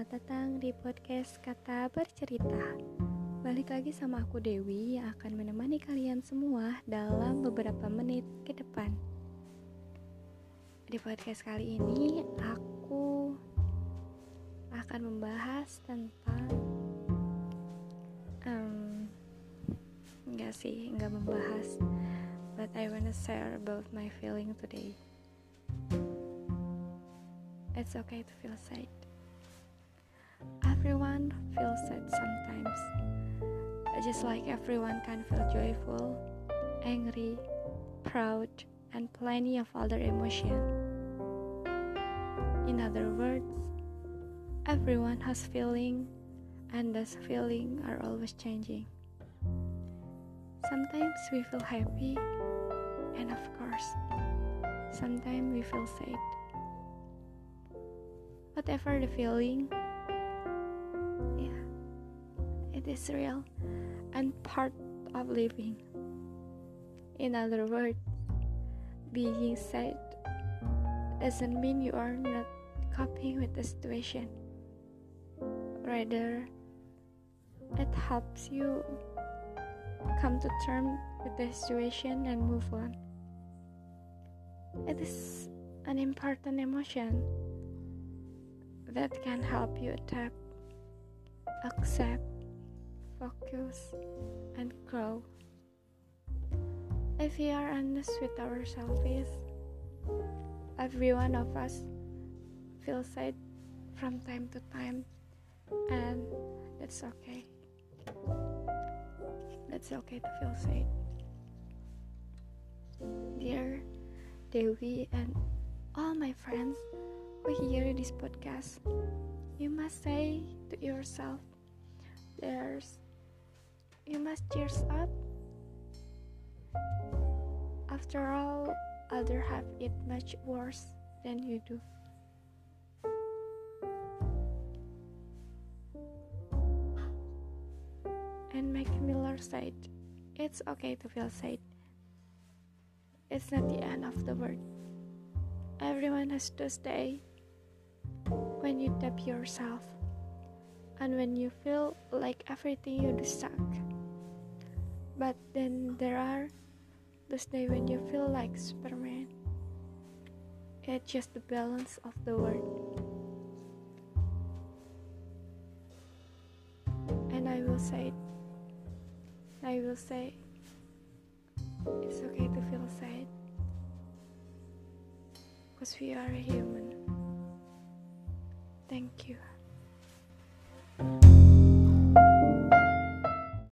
Selamat datang di podcast Kata Bercerita. Balik lagi sama aku Dewi yang akan menemani kalian semua dalam beberapa menit ke depan. Di podcast kali ini aku akan membahas tentang enggak membahas, but I wanna share about my feeling today. It's okay to feel sad. Everyone feels sad sometimes. Just like everyone can feel joyful, angry, proud, and plenty of other emotions. In other words, everyone has feeling, and those feelings are always changing. Sometimes we feel happy, and of course, sometimes we feel sad. Whatever the feeling, it is real and part of living. In other words, being sad doesn't mean you are not coping with the situation. Rather, it helps you come to terms with the situation and move on. It is an important emotion that can help you adapt, accept, focus, and grow. If we are honest with ourselves, every one of us feels sad from time to time, and that's okay. That's okay to feel sad. Dear Dewi and all my friends who hear this podcast, you must say to yourself, you must cheers up. After all, others have it much worse than you do. And Mac Miller said, it's okay to feel sad. It's not the end of the world. Everyone has those days when you doubt yourself, and when you feel like everything you do suck. But then there are those days when you feel like Superman. It's just the balance of the world. And I will say, it's okay to feel sad, because we are human. Thank you.